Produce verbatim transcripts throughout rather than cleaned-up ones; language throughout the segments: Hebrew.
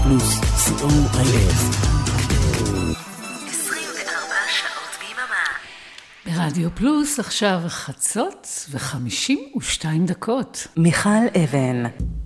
פלוס, סי או איי אס. עשרים וארבע שעות ביממה. ברדיו פלוס עכשיו חצות וחמישים ושתיים דקות. מיכל אבן,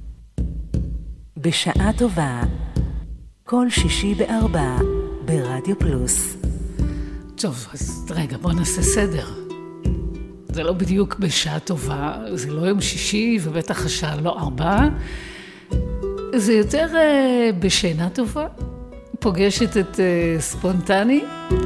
בשעה טובה, כל שישי בארבע, ברדיו פלוס. טוב, אז רגע, בוא נעשה סדר. זה לא בדיוק בשעה טובה, זה לא יום שישי ובטח השעה לא ארבע. זה יותר uh, בשינה טובה. פוגשת את uh, ספונטני.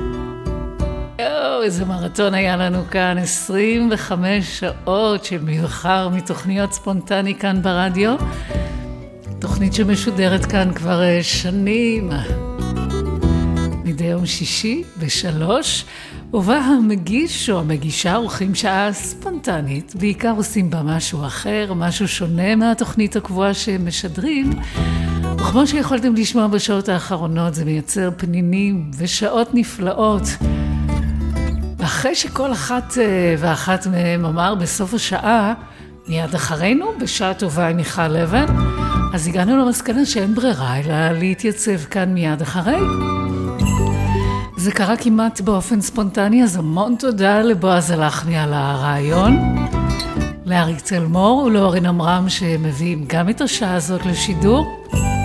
יו, איזה מרתון היה לנו כאן, עשרים וחמש שעות של מבחר מתוכניות ספונטני כאן ברדיו. תוכנית שמשודרת כאן כבר uh, שנים. מדי יום שישי בשלוש. ובה המגיש או המגישה עורכים שעה ספונטנית, בעיקר עושים בה משהו אחר, משהו שונה מהתוכנית הקבועה שהם משדרים, וכמו שיכולתם לשמוע בשעות האחרונות, זה מייצר פנינים ושעות נפלאות. ואחרי שכל אחת ואחת מהם אמר בסוף השעה, מיד אחרינו, בשעה טובה עם מיכל אבן, אז הגענו למסקנה שאין ברירה, אלא להתייצב כאן מיד אחרי. זה קרה כמעט באופן ספונטני, אז המון תודה לבועז הלחמי על הרעיון, לאריק צלמור ולאורין אמרם שמביאים גם את השעה הזאת לשידור.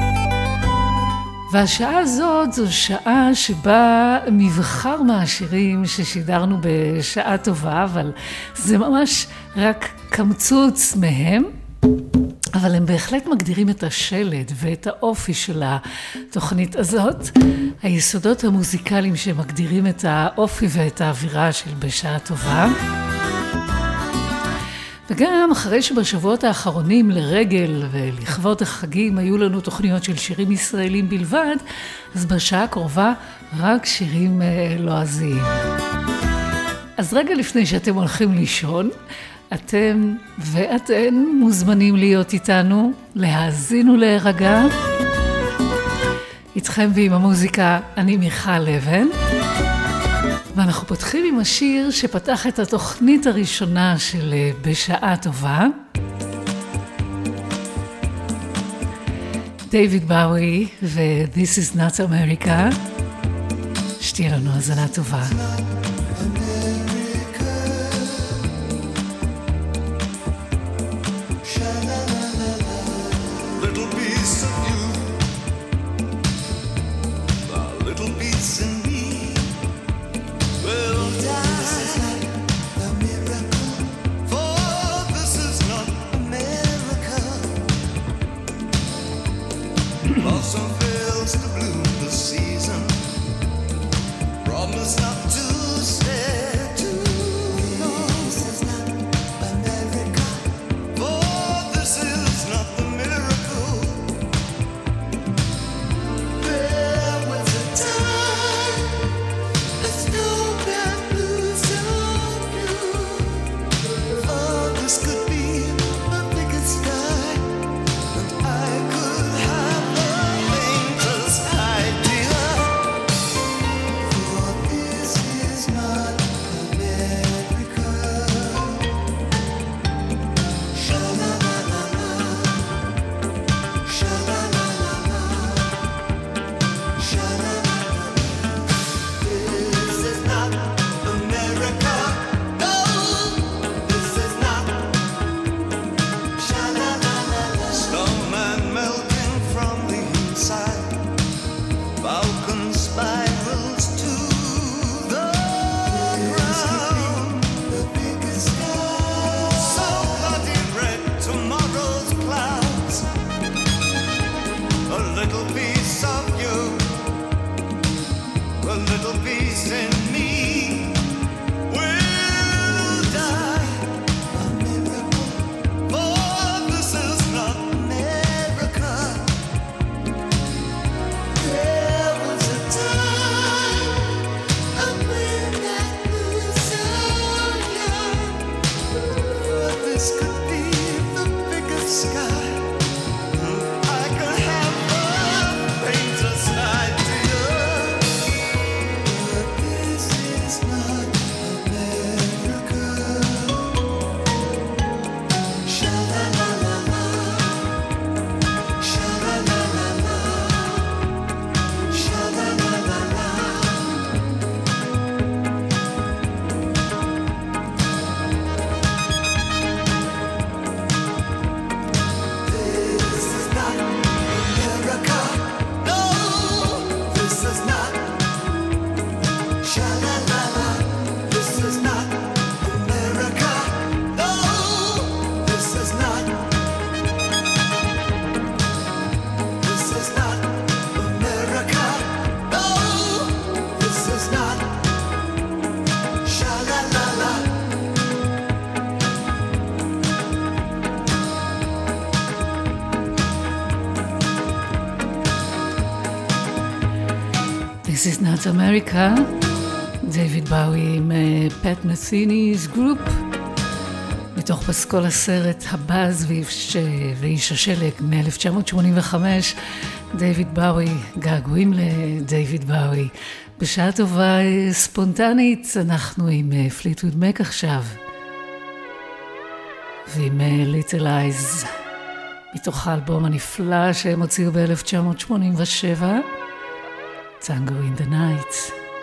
והשעה הזאת זו שעה שבה מבחר מהשירים ששידרנו בשעה טובה, אבל זה ממש רק קמצוץ מהם. אבל הם בהחלט מגדירים את השלד ואת האופי של התוכנית הזאת. היסודות המוזיקליים שמגדירים את האופי ואת האווירה של בשעה טובה. וגם אחרי שבשבועות האחרונים לרגל ולכבוד החגים היו לנו תוכניות של שירים ישראלים בלבד, אז בשעה הקרובה רק שירים לועזיים. אז רגע לפני שאתם הולכים לישון, אתם ואתן מוזמנים להיות איתנו, להאזין ולהירגע. איתכם ועם המוזיקה, אני מיכל אבן. ואנחנו פותחים עם השיר שפתח את התוכנית הראשונה של בשעה טובה. דיוויד באוי ו-This is not America. שתהיה לנו האזנה טובה. This is not America, דיוויד באוי עם פט מת'יני's גרופ, מתוך פסקול הסרט הבאז ואיש השלג מ-אלף תשע מאות שמונים וחמש, דיוויד באוי, געגועים לדיוויד באוי. בשעה טובה ספונטנית, אנחנו עם פליטווד מק עכשיו, ועם ליטל אייז, מתוך האלבום הנפלא שהם הוציאו ב-אלף תשע מאות שמונים ושבע, Tango in the Night.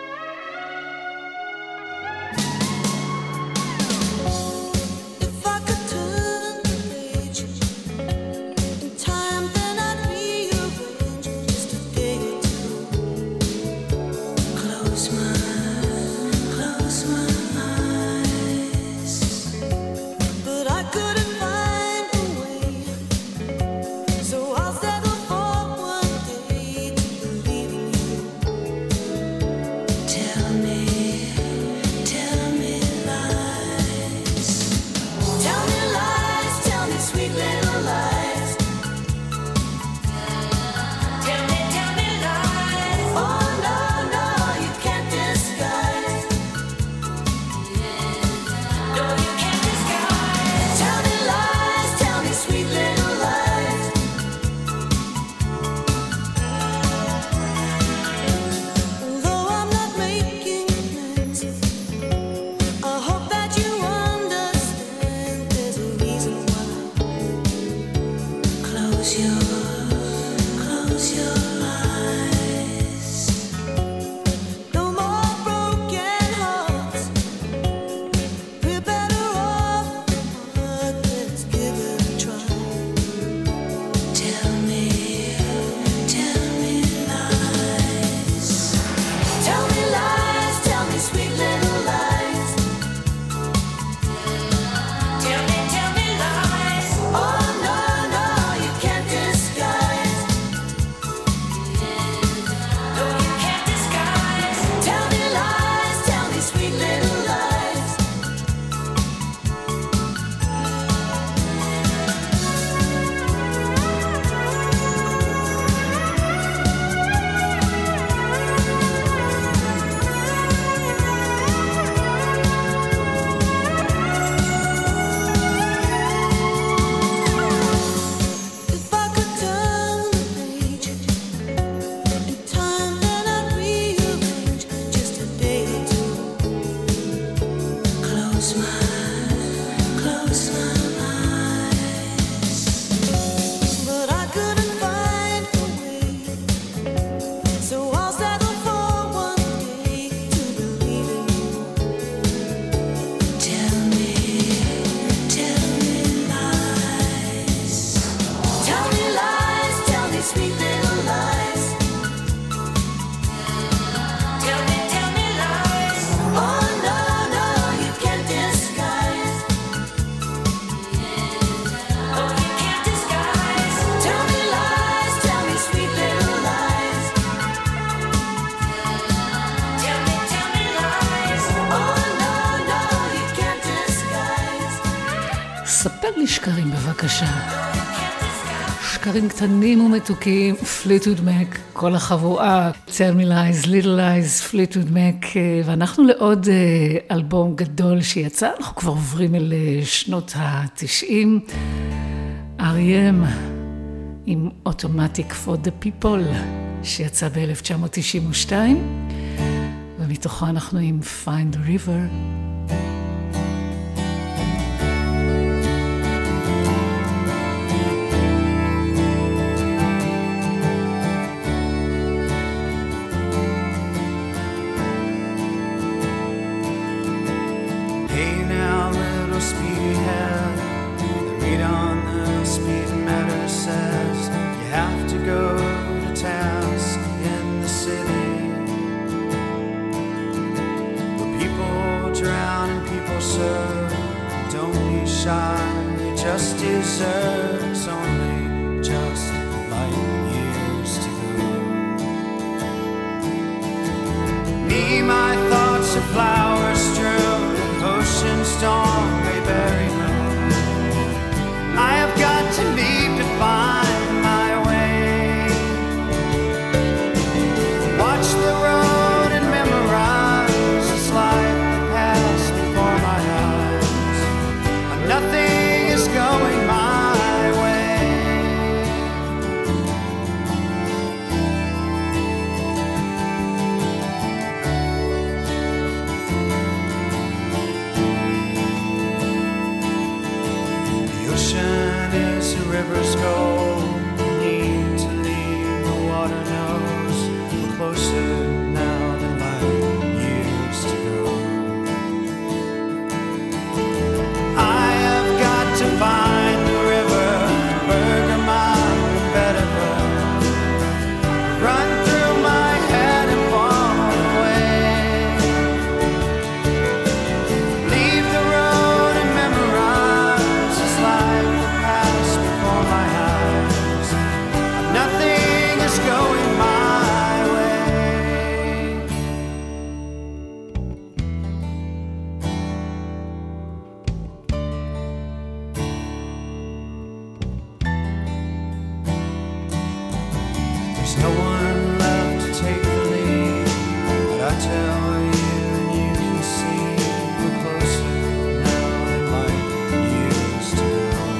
שקרים בבקשה. שקרים קטנים ומתוקים, פליטווד מק, כל החבורה, Tell me lies, little lies, פליטווד מק, ואנחנו לעוד אלבום גדול שיצא, אנחנו כבר עוברים אל שנות ה-תשעים, אר אי אם עם Automatic for the People, שיצא ב-אלף תשע מאות תשעים ושתיים, ומתוכו אנחנו עם Find the River. Watch the road. ocean is a river's goal. Need to leave, the water knows. We're closer now than light used to go. I have got to find the river, Bergamot and Vetiver. Run through my head and fall away. Leave the road and memorize this life that passed before my eyes. Nothing is going my way. There's no one left to take the lead, but I tell you and you can see we're closer now than light used to know.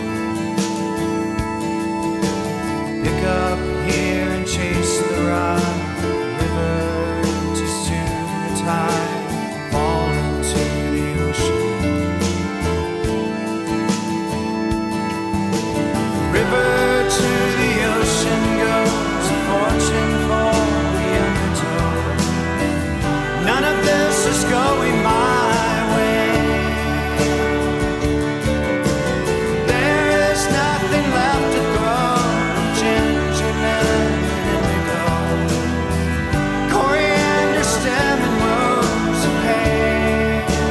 Pick up here and chase the ride, river to soon the tide, fall into the ocean. River to the ocean goes, a fortune for the undertow. None of this is going my way. There is nothing left to grow, ginger, lemon, and indigo, coriander, stem, and rose of hay.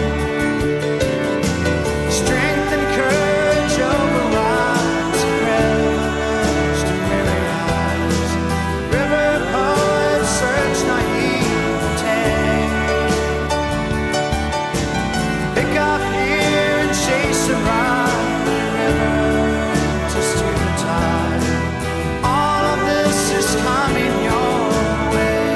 Strength and courage overrides revelers to weary eyes. River poets search naivete. Pick up here and chase a ride, river to steer the tide. All of this is coming your way.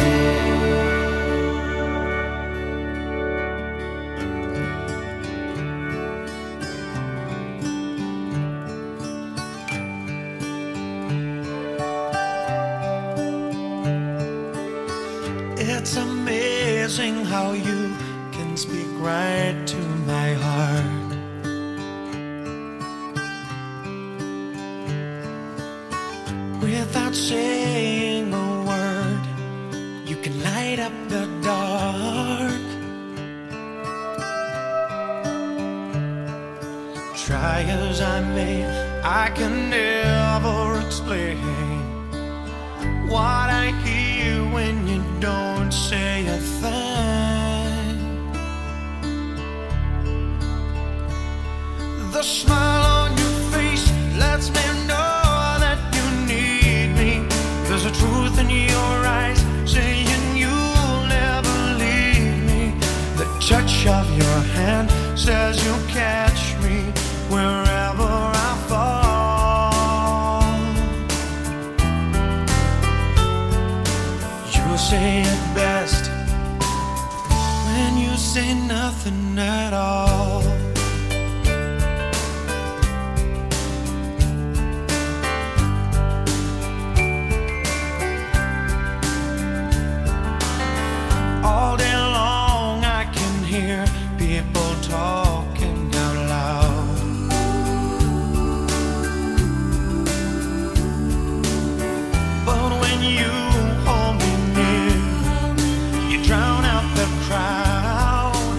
It's amazing how you can speak right to my heart. Without saying a word, you can light up the dark. Try as I may, I can never explain what I hear when you don't say a thing. The smile on your face lets me know that you need me. There's a truth in your eyes saying you'll never leave me. The touch of your hand says you'll catch me wherever I fall. You say it best when you say nothing at all. All day long I can hear people talking out loud. But when you hold me near, you drown out the crowd.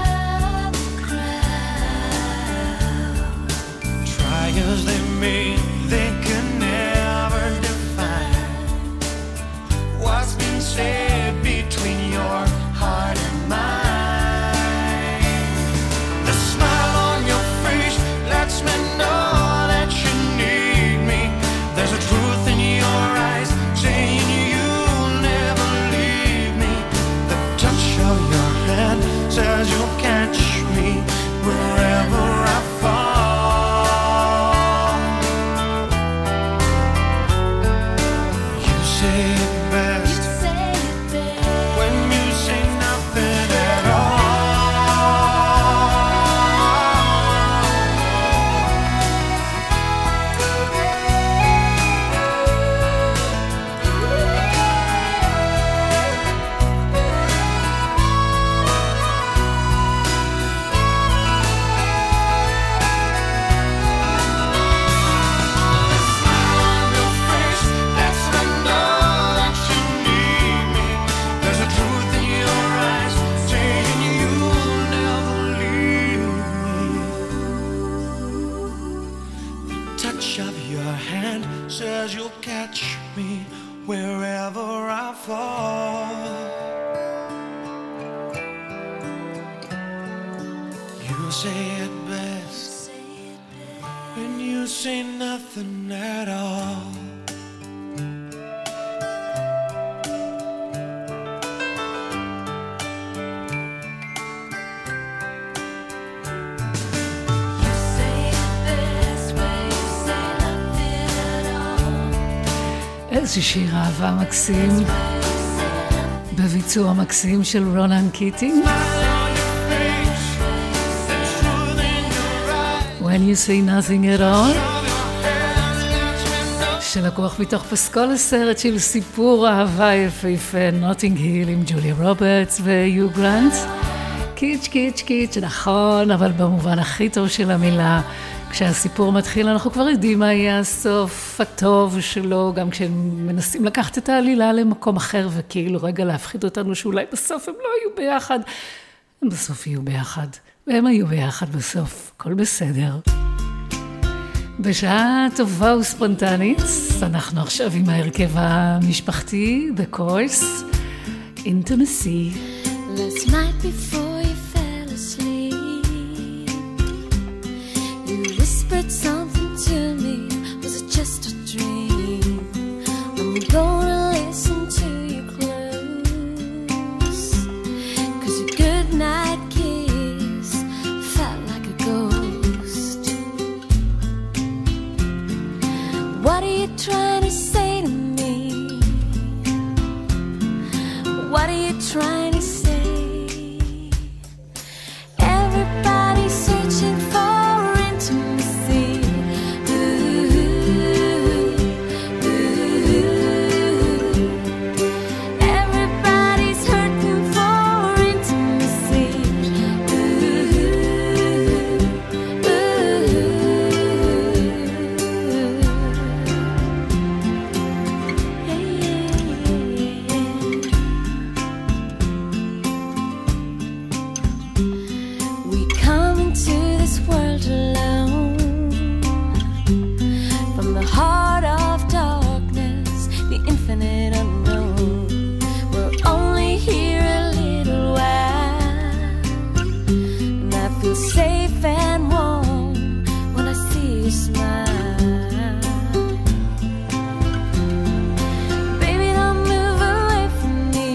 Try as they may, they can never define what's been said between your heart and mine. The smile on your face lets me know that you need me. There's a truth in your eyes saying you'll never leave me. The touch of your hand says you'll catch me wherever I fall. touch of your hand says you'll catch me wherever I fall. You say it best when you say nothing at all. איזה שיר אהבה מקסים בביצוע מקסים של רונן קיטינג. When you say nothing at all, שלקוח מתוך פסקול הסרט של סיפור אהבה יפהפה נוטינג היל עם ג'וליה רוברטס ויו גרנט. קיץ' קיץ' קיץ', נכון, אבל במובן הכי טוב של המילה. כשהסיפור מתחיל אנחנו כבר יודעים מה יהיה הסוף הטוב שלו, גם כשהם מנסים לקחת את העלילה למקום אחר וכאילו רגע להפחיד אותנו שאולי בסוף הם לא יהיו ביחד. הם בסוף יהיו ביחד, והם היו ביחד בסוף, הכל בסדר. בשעה טובה וספונטנית, אנחנו עכשיו עם ההרכב המשפחתי, The Course, Intimacy. Last night before you fell asleep, you whispered something to me. Was it just a dream? I'm gonna listen to you close, 'cause your goodnight kiss felt like a ghost. What are you trying to say to me? What are you trying to say? Everybody's searching for intimacy. Ooh, ooh. Everybody's hurting for intimacy. Ooh, ooh. Hey, yeah, yeah. We come into this world alone, from the heart of darkness, the infinite unknown. We're only here a little while, and I feel safe and warm when I see you smile. Baby, don't move away from me.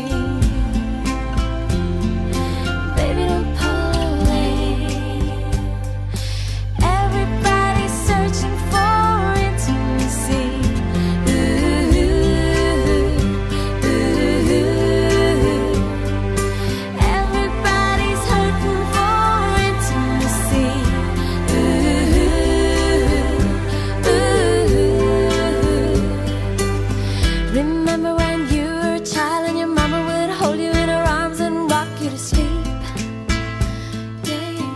Baby, don't pull away. Everybody's searching for intimacy. Ooh, ooh. Everybody's hurting for intimacy. Ooh, ooh. Remember when you were a child and your mama would hold you in her arms and rock you to sleep? Yeah, yeah,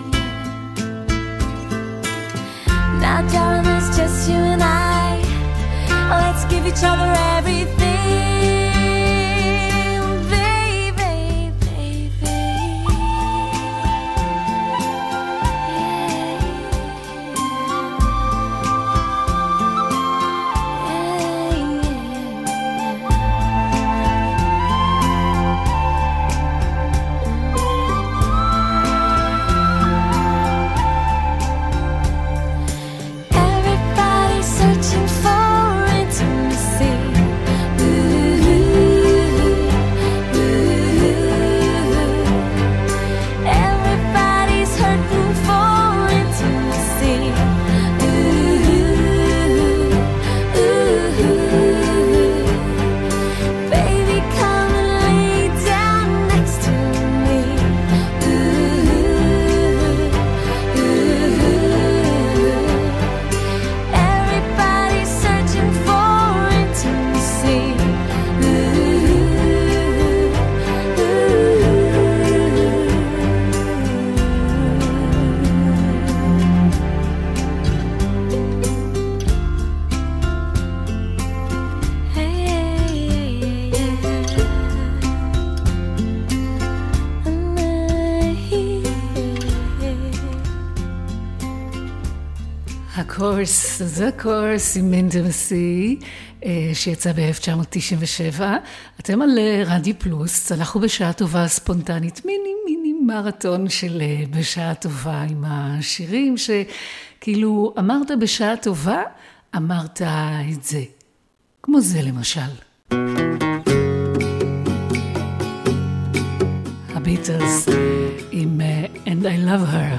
yeah. Now, darling, it's just you and I. Let's give each other everything, baby, baby. Everybody's searching for intimacy. Ooh, הקורס, זה קורס עם אינטימסי, שיצא ב-אלף תשע מאות תשעים ושבע. אתם על רדיו פלוס, אנחנו בשעה טובה ספונטנית, מיני מיני מרתון של בשעה טובה עם השירים, שכאילו אמרת בשעה טובה, אמרת את זה. כמו זה למשל. הביטלס עם And I Love Her.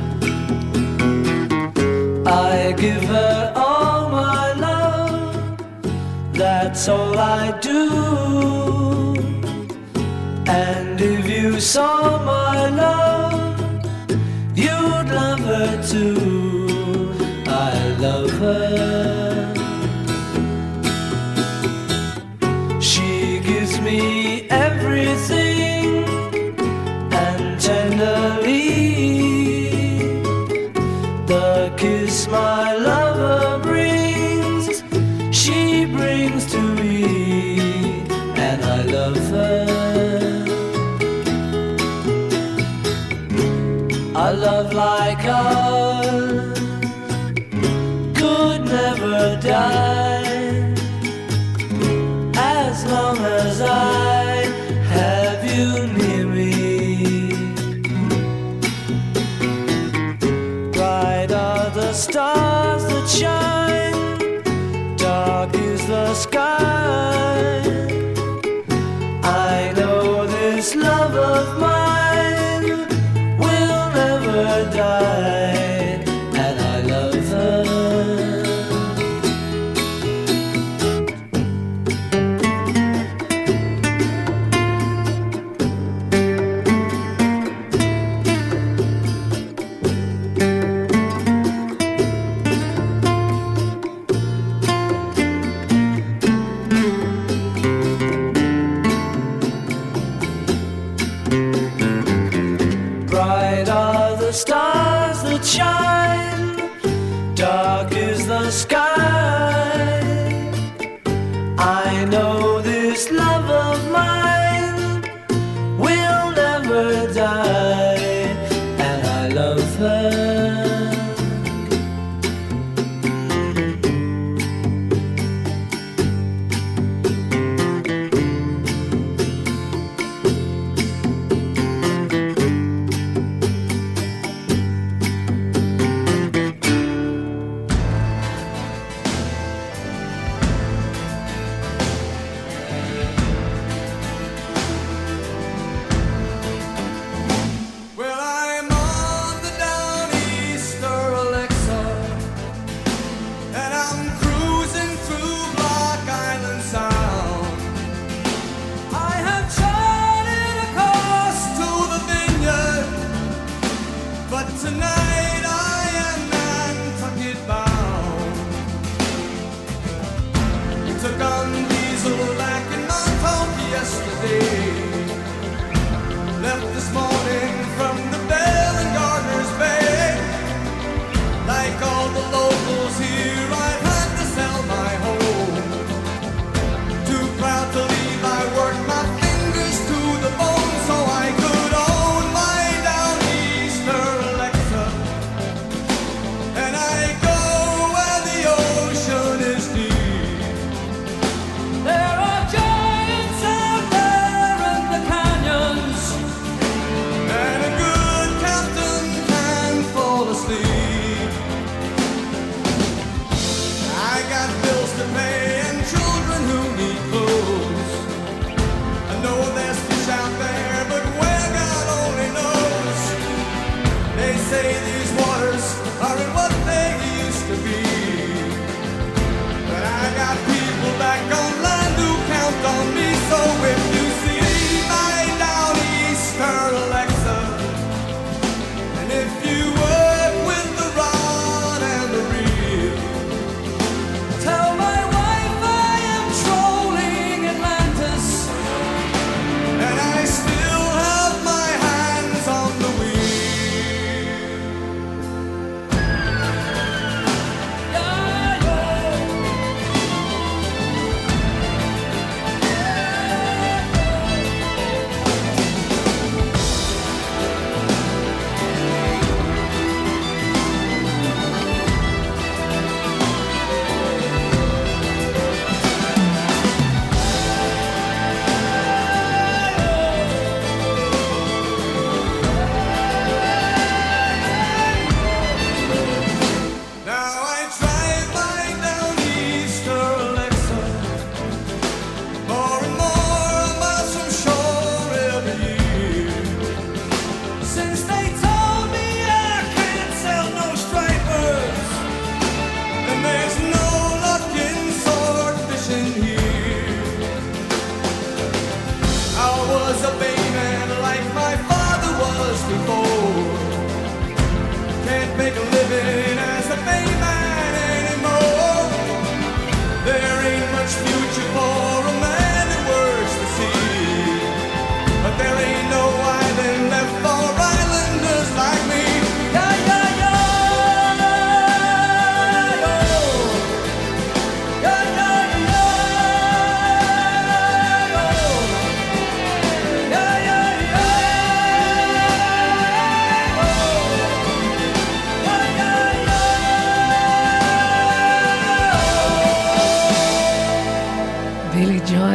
I give her all my love, that's all I do. And if you saw my love, you'd love her too. I love her. She gives me everything, and tenderly the kiss my lover brings, she brings to me, and I love her. A love like ours could never die, as long as I have you near me. Bright are the stars that shine, dark is the sky. I know this love of mine will never die, and I love her. Stars that shine, dark is the sky. I know this love of mine will never die, and I love her.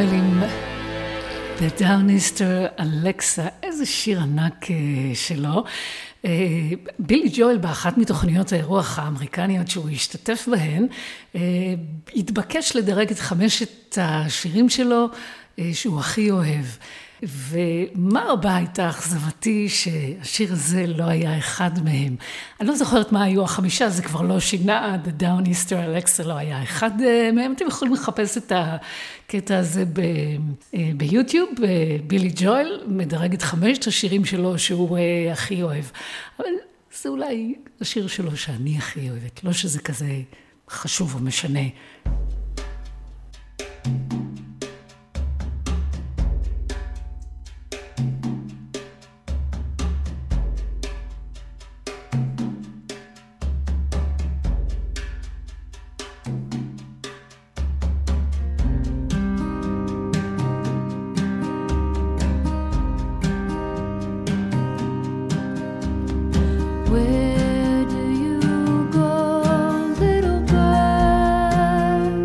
ג'ואל עם The Downister Alexa, איזה שיר ענק שלו. בילי ג'ואל באחת מתוכניות האירוח האמריקניות שהוא השתתף בהן, התבקש לדרג את חמשת השירים שלו שהוא הכי אוהב. ומה רבה הייתה אכזבתי שהשיר הזה לא היה אחד מהם. אני לא זוכרת מה היו החמישה, זה כבר לא שינה, The Downister Alexa לא היה אחד מהם. אתם יכולים לחפש את הקטע הזה ב- ביוטיוב, בילי ג'ואל מדרג את חמשת השירים שלו שהוא הכי אוהב. אבל זה אולי השיר שלו שאני הכי אוהבת, לא שזה כזה חשוב או משנה. Where do you go, little bird?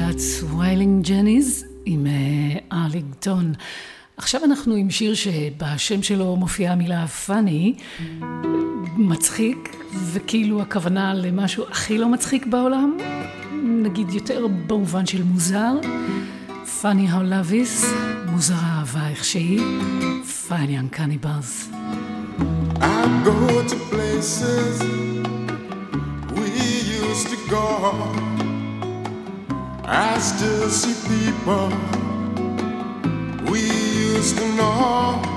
להקת ויילינג ג'ניז עם ארלינגטון. עכשיו אנחנו עם שיר שבשם שלו מופיעה המילה פאני, מצחיק, וכאילו הכוונה למשהו הכי לא מצחיק בעולם, נגיד יותר במובן של מוזר. Funny how love is, מוזר האהבה איך שהיא, Funny and Cannibals. I go to places we used to go. I still see people we used to know.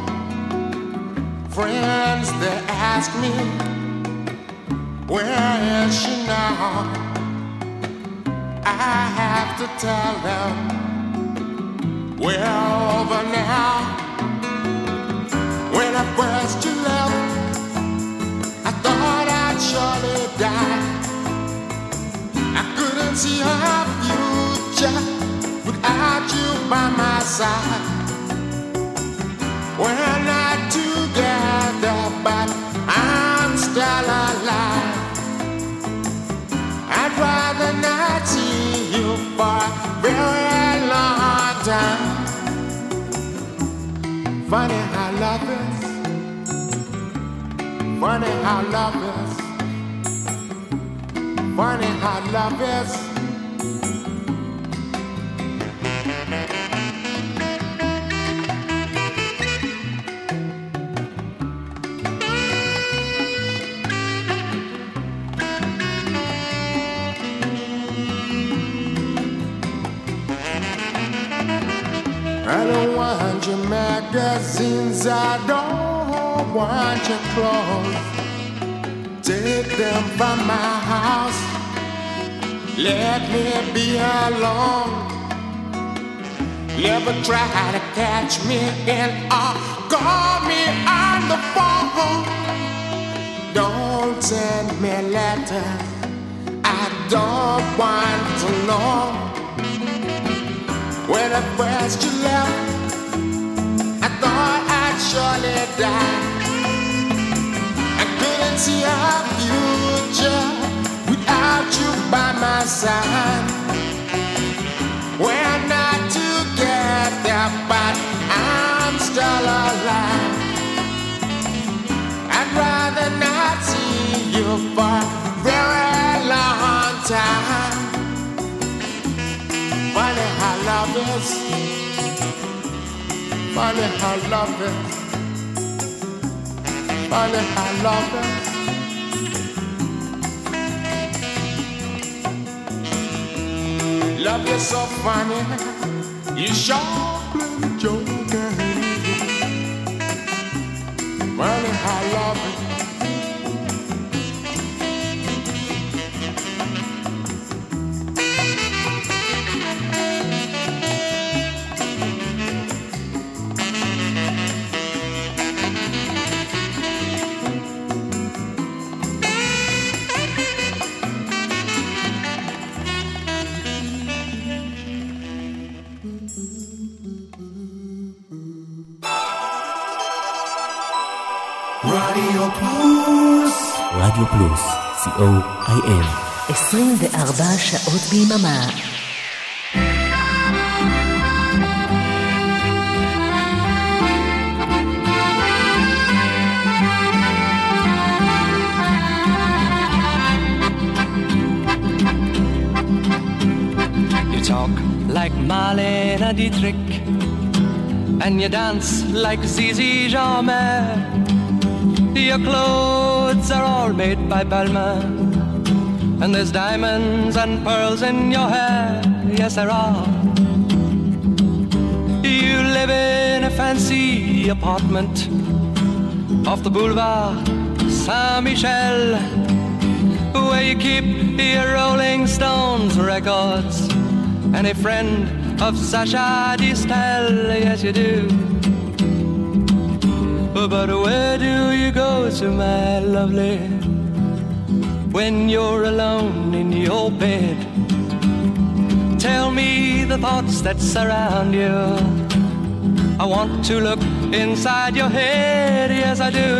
Friends, they ask me, where is she now? I have to tell them, we're over now. When I first you left, I thought I'd surely die. I couldn't see her future without you by my side. We're not together, but I'm still alive. I'd rather not see you for a very long time. Funny how love is. Funny how love is. Funny how love is. I don't want your magazines, I don't want your clothes. Take them from my house, let me be alone. Never try to catch me in or call me on the phone. Don't send me letters, I don't want to know. When at first you left, I thought I'd surely die. I couldn't see our future without you by my side. We're not together, but I'm still alive. I'd rather not see you for a very long time. Funny how love is. Funny how love is. Funny how love is. Love is so funny. You sure play the joker. Funny how love is. רדיו פלוס, רדיו פלוס, סי או איי אן. עשרים וארבע שעות ביממה. You talk like Marlene Dietrich, and you dance like Zizi Jeanmaire. Your clothes are all made by Balmain, and there's diamonds and pearls in your hair. Yes, there are. You live in a fancy apartment off the boulevard Saint-Michel, where you keep your Rolling Stones records and a friend of Sacha Distel. Yes, you do. But where do you go to, my lovely, when you're alone in your bed? Tell me the thoughts that surround you. I want to look inside your head, yes I do.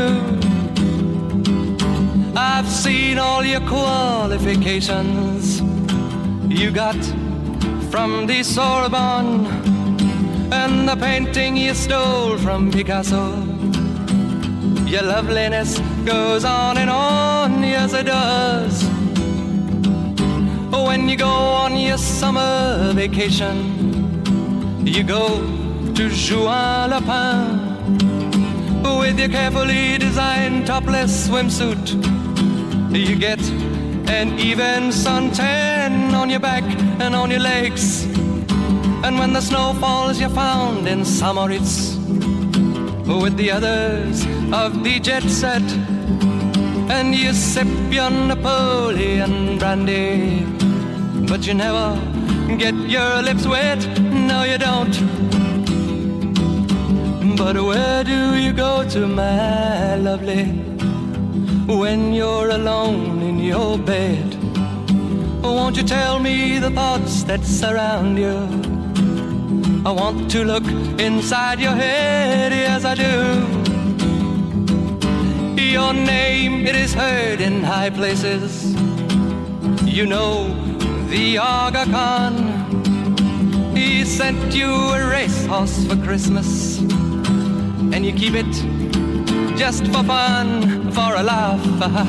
I've seen all your qualifications. You got from the Sorbonne, and the painting you stole from Picasso. Your loveliness goes on and on, yes it does. When you go on your summer vacation, you go to Juan-les-Pins with your carefully designed topless swimsuit. You get an even suntan on your back and on your legs. And when the snow falls, you're found in Samoritz with the others of the jet set, and you sip your Napoleon brandy, but you never get your lips wet, no you don't. But where do you go to, my lovely, when you're alone in your bed? Won't you tell me the thoughts that surround you? I want to look inside your head, yes I do. Your name, it is heard in high places. You know the Aga Khan, he sent you a racehorse for Christmas, and you keep it just for fun, for a laugh.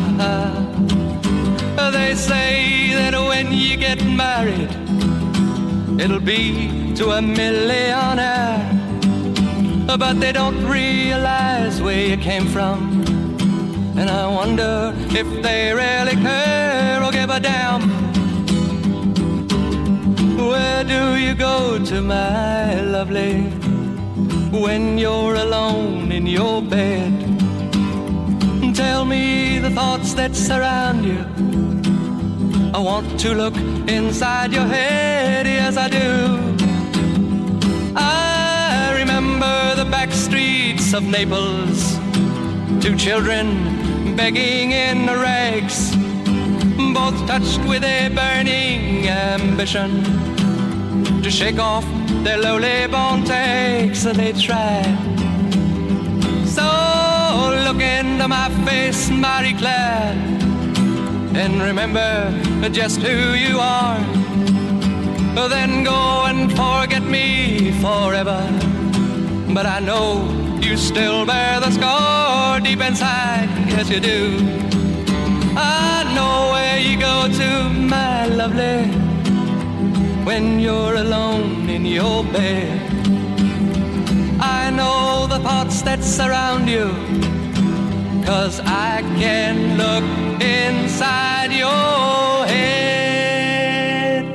They say that when you get married, it'll be to a millionaire, but they don't realize where you came from, and I wonder if they really care or give a damn. Where do you go to, my lovely, when you're alone in your bed? Tell me the thoughts that surround you. I want to look inside your head, yes I do. I remember the back streets of Naples, two children begging in rags, both touched with a burning ambition to shake off their lowly born takes. They try. So look into my face, Marie Claire, and remember just who you are. Then go and forget me forever, but I know you still bear the scar deep inside, yes you do. I know where you go to, my lovely, when you're alone in your bed. I know the thoughts that surround you, 'cause I can look inside your head.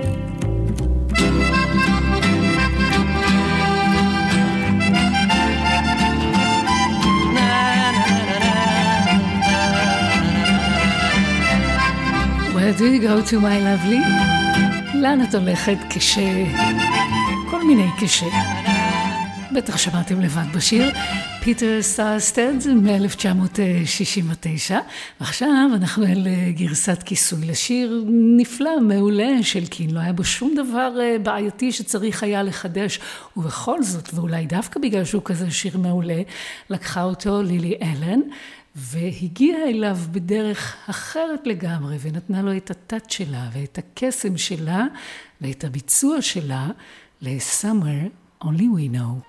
Na, na, na, na, na. Where do you go to, my lovely? לאן את הולכת כש... כל מיני כש... בטח שמעתם לבד בשיר, פיטר סטארסטד מ-אלף תשע מאות שישים ותשע. ועכשיו אנחנו אל גרסת כיסוי לשיר נפלא, מעולה של קין. לא היה בו שום דבר בעייתי שצריך היה לחדש, ובכל זאת, ואולי דווקא בגלל שהוא כזה שיר מעולה, לקחה אותו לילי אלן, והגיעה אליו בדרך אחרת לגמרי, ונתנה לו את הטאט שלה, ואת הקסם שלה, ואת הביצוע שלה, ל-Summer Only We Know.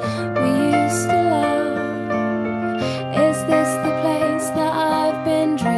Is this the place that I've been dreaming?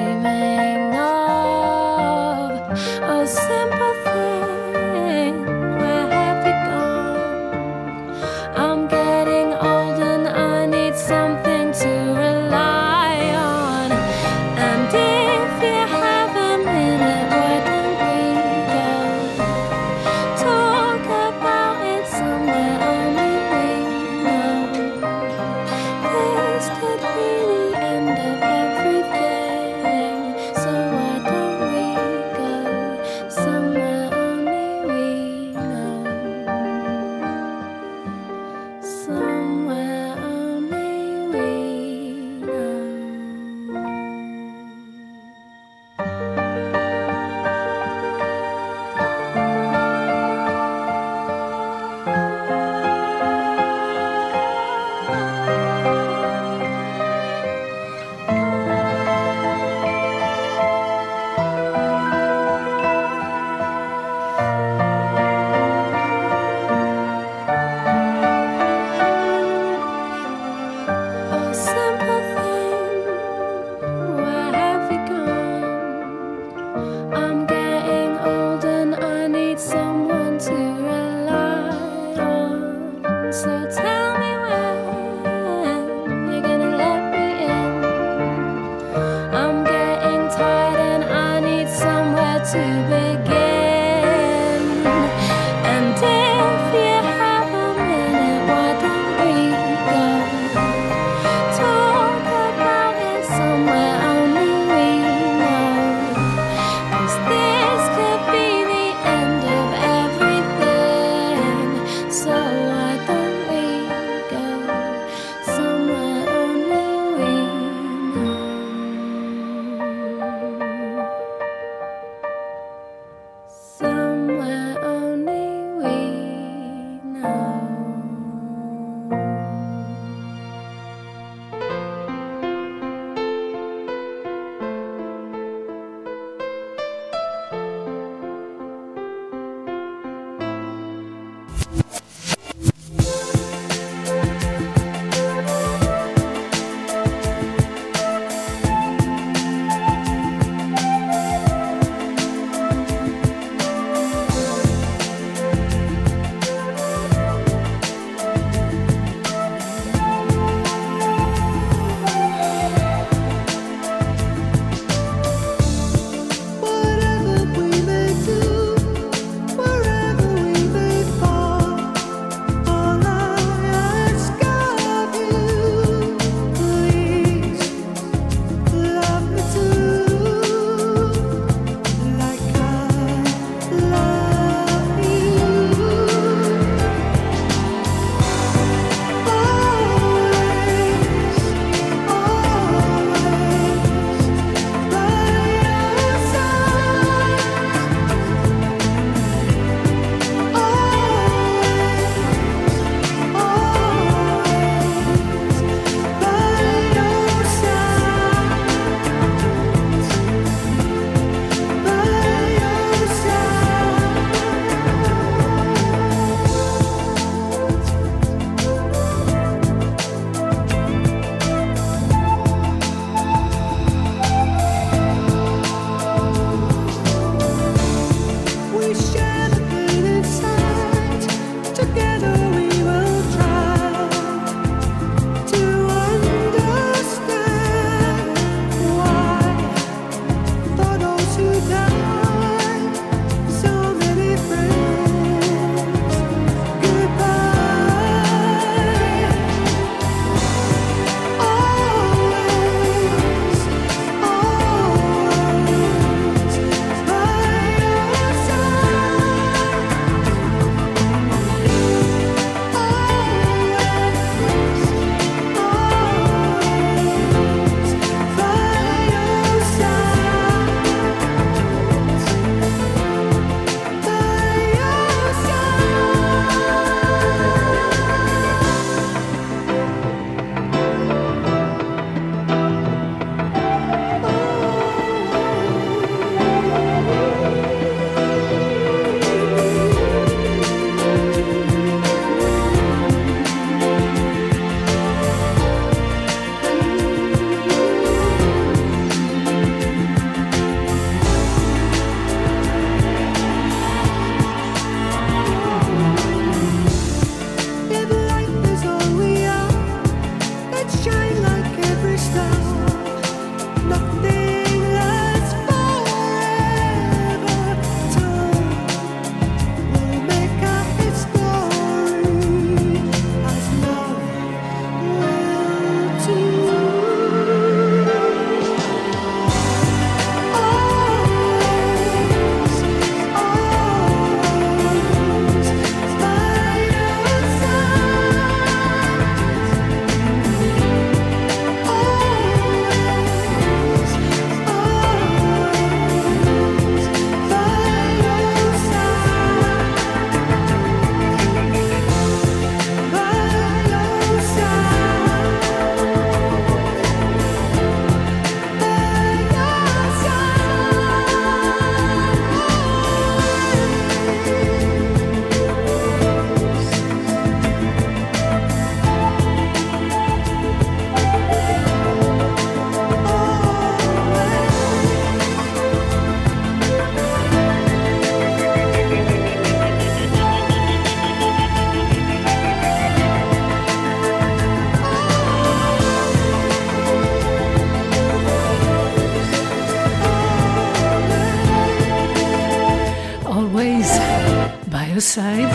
Fireside.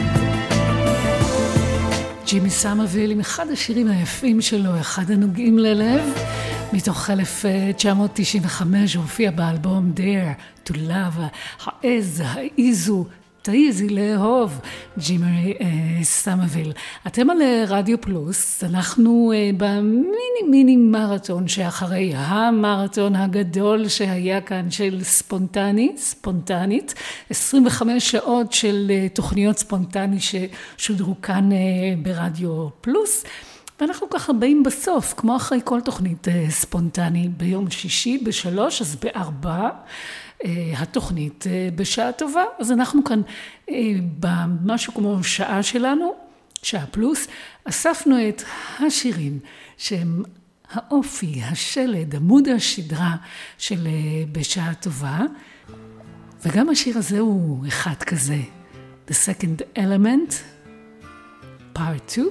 ג'ימי סמרוויל עם אחד השירים היפים שלו, אחד הנוגעים ללב, מתוך אלף תשע מאות תשעים וחמש, הופיע באלבום Dare to Love, העז, העיזו, תעיזי לאהוב, ג'ימי אה, סמרוויל. אתם על רדיו פלוס, אנחנו אה, במיני מיני מרתון שאחרי המרתון הגדול שהיה כאן של ספונטני, ספונטנית, עשרים וחמש שעות של אה, תוכניות ספונטני ששודרו כאן אה, ברדיו פלוס, ואנחנו ככה באים בסוף, כמו אחרי כל תוכנית אה, ספונטני, ביום שישי בשלוש, אז בארבע, התוכנית בשעה טובה. אז אנחנו כאן במשהו כמו שעה שלנו, שעה פלוס, אספנו את השירים שהם האופי, השלד, עמוד השדרה של בשעה טובה, וגם השיר הזה הוא אחד כזה, The Second Element, Part two,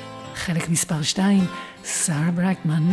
חלק מספר שתיים, שרה ברייטמן.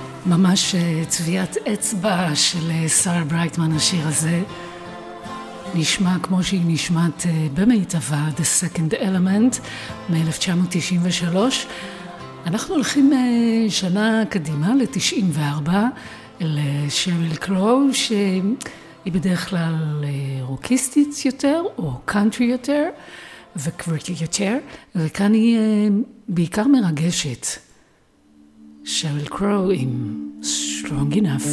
ממש צביעת אצבע של שרה ברייטמן השיר הזה. נשמע כמו שהיא נשמעת במיטבה, The Second Element מ-אלף תשע מאות תשעים ושלוש. אנחנו הולכים שנה קדימה ל-תשעים וארבע, לשריל קרו, שהיא בדרך כלל רוקיסטית יותר או קאנטרי יותר וקווירקי יותר, וכאן היא בעיקר מרגשת. שריל קרו עם Strong Enough.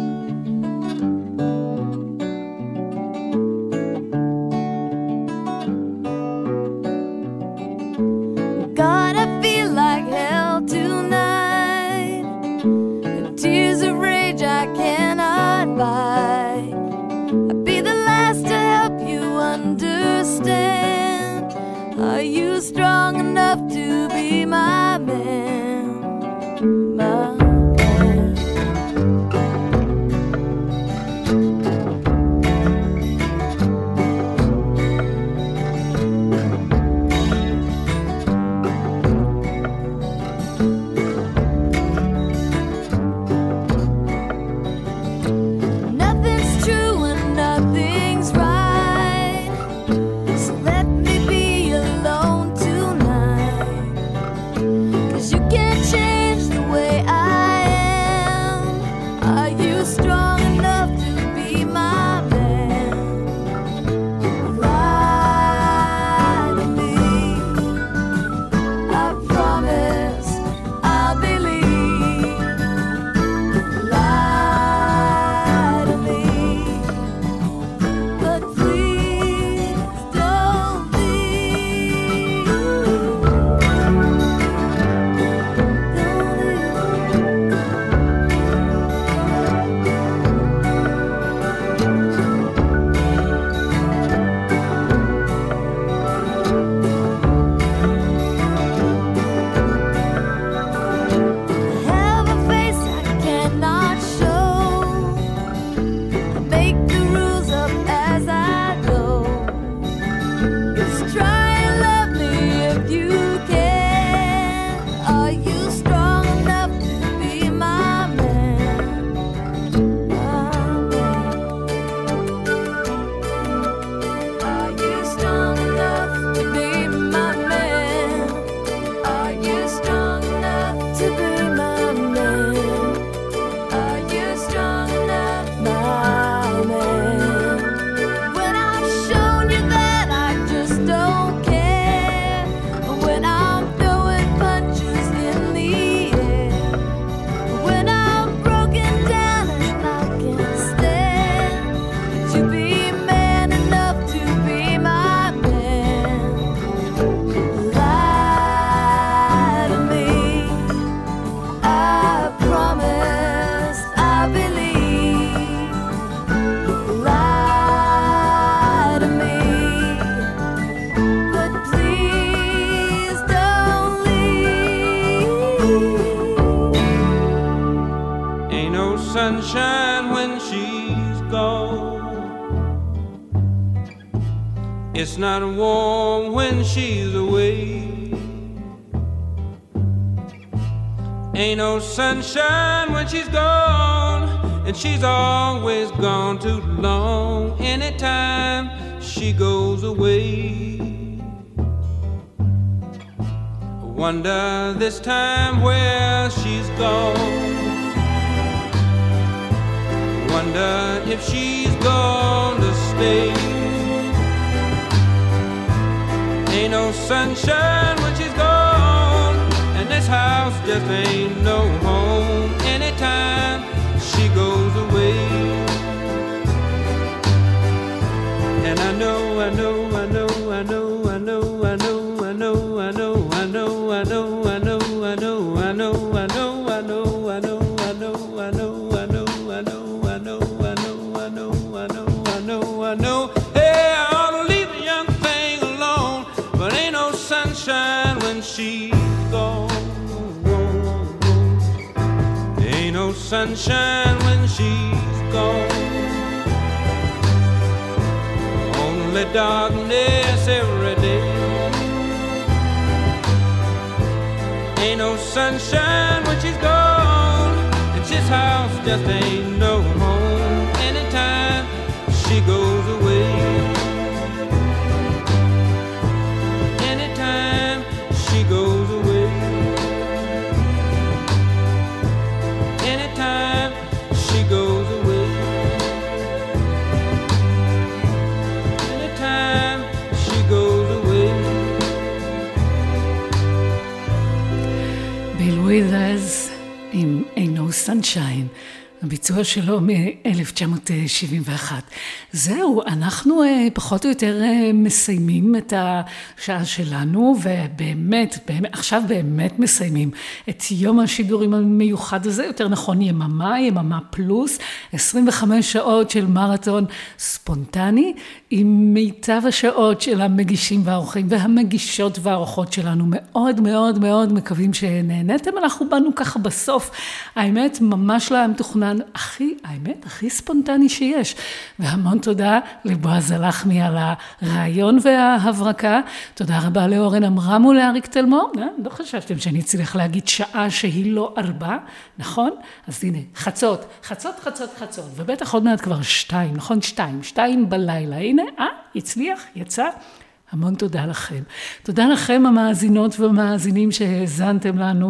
God, I feel like hell tonight. The tears of rage I cannot bite. I'd be the last to help you understand. Are you strong enough to be my man? My sunshine when she's gone. It's not warm when she's away. Ain't no sunshine when she's gone, and she's always gone too long. Anytime she goes away, I wonder this time where she's gone. Wonder if she's gonna stay. Ain't no sunshine when she's gone, and this house just ain't no home. Anytime she goes away, and I know, I know, I know, I know, I know, I know, I know, I know, I know, I know, I know, I know, I know, I know, I know, I know, I know, I know, I know, I know. I know, hey, I ought to leave the young thing alone, but ain't no sunshine when she's gone. Ain't no sunshine when she's gone. Only darkness every day. Ain't no sunshine when she's gone, and this house just ain't no home. Anytime she goes away. Sunshine, הביצוע שלו מ-אלף תשע מאות שבעים ואחת. זהו, אנחנו פחות או יותר מסיימים את השעה שלנו, ובאמת, באמת, עכשיו באמת מסיימים את יום השידורים המיוחד הזה, יותר נכון יממה, יממה פלוס, עשרים וחמש שעות של מרתון ספונטני, עם מיטב השעות של המגישים והאורחים, והמגישות והאורחות שלנו. מאוד מאוד מאוד מקווים שנהנתם, אנחנו באנו ככה בסוף, האמת ממש לא היה מתוכנן, הכי, האמת, הכי ספונטני שיש. והמון תודה לבועז הלחמי על הרעיון וההברקה. תודה רבה לאורן אמרם ולאריק תלמור. לא חשבתם שאני אצליח להגיד שעה שהיא לא ארבע, נכון? אז הנה, חצות, חצות, חצות, חצות. ובטח עוד מעט כבר שתיים, נכון? שתיים, שתיים בלילה. הנה, אה, הצליח, יצא. המון תודה לכם. תודה לכם המאזינות והמאזינים שהזנתם לנו.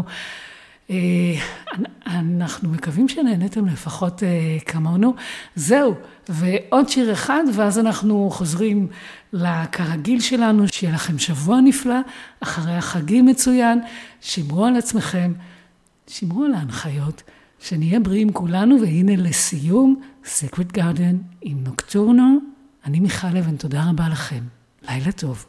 אנחנו מקווים שנהנתם לפחות כמונו. זהו, ועוד שיר אחד, ואז אנחנו חוזרים לכרגיל שלנו. שיהיה לכם שבוע נפלא, אחרי החגים מצוין. שמרו על עצמכם, שמרו על ההנחיות, שנהיה בריאים כולנו. והנה לסיום, Sacred Garden עם נוקטורנו. אני מיכל לבן, תודה רבה לכם. לילה טוב.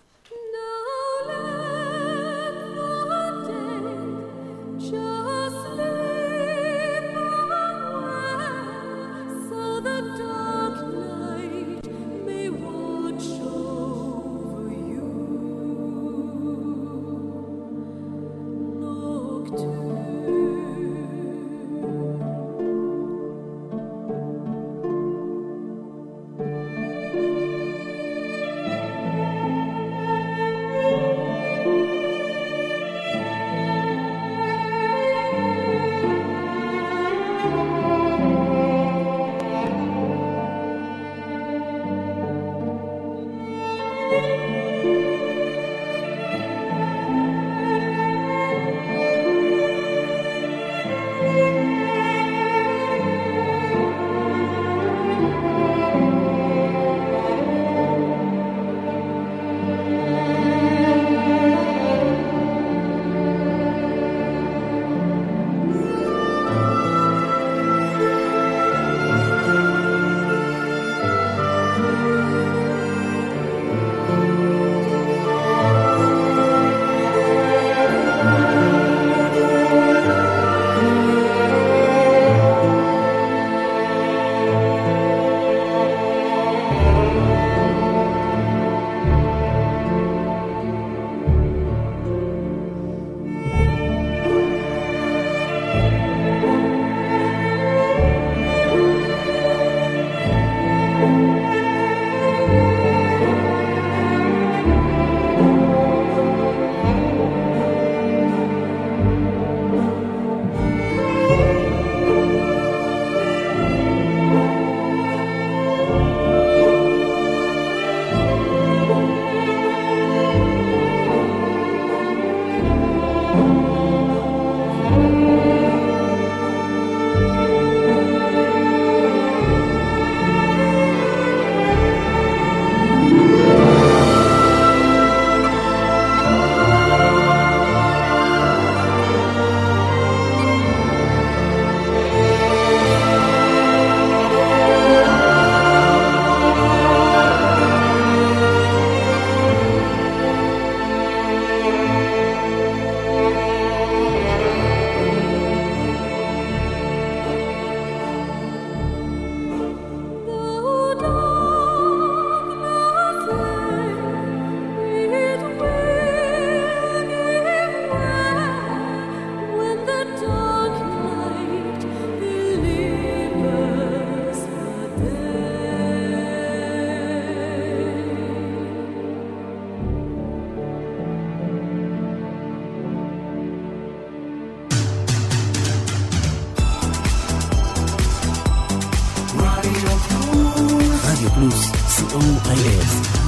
רדיו פלוס, סי או איי אס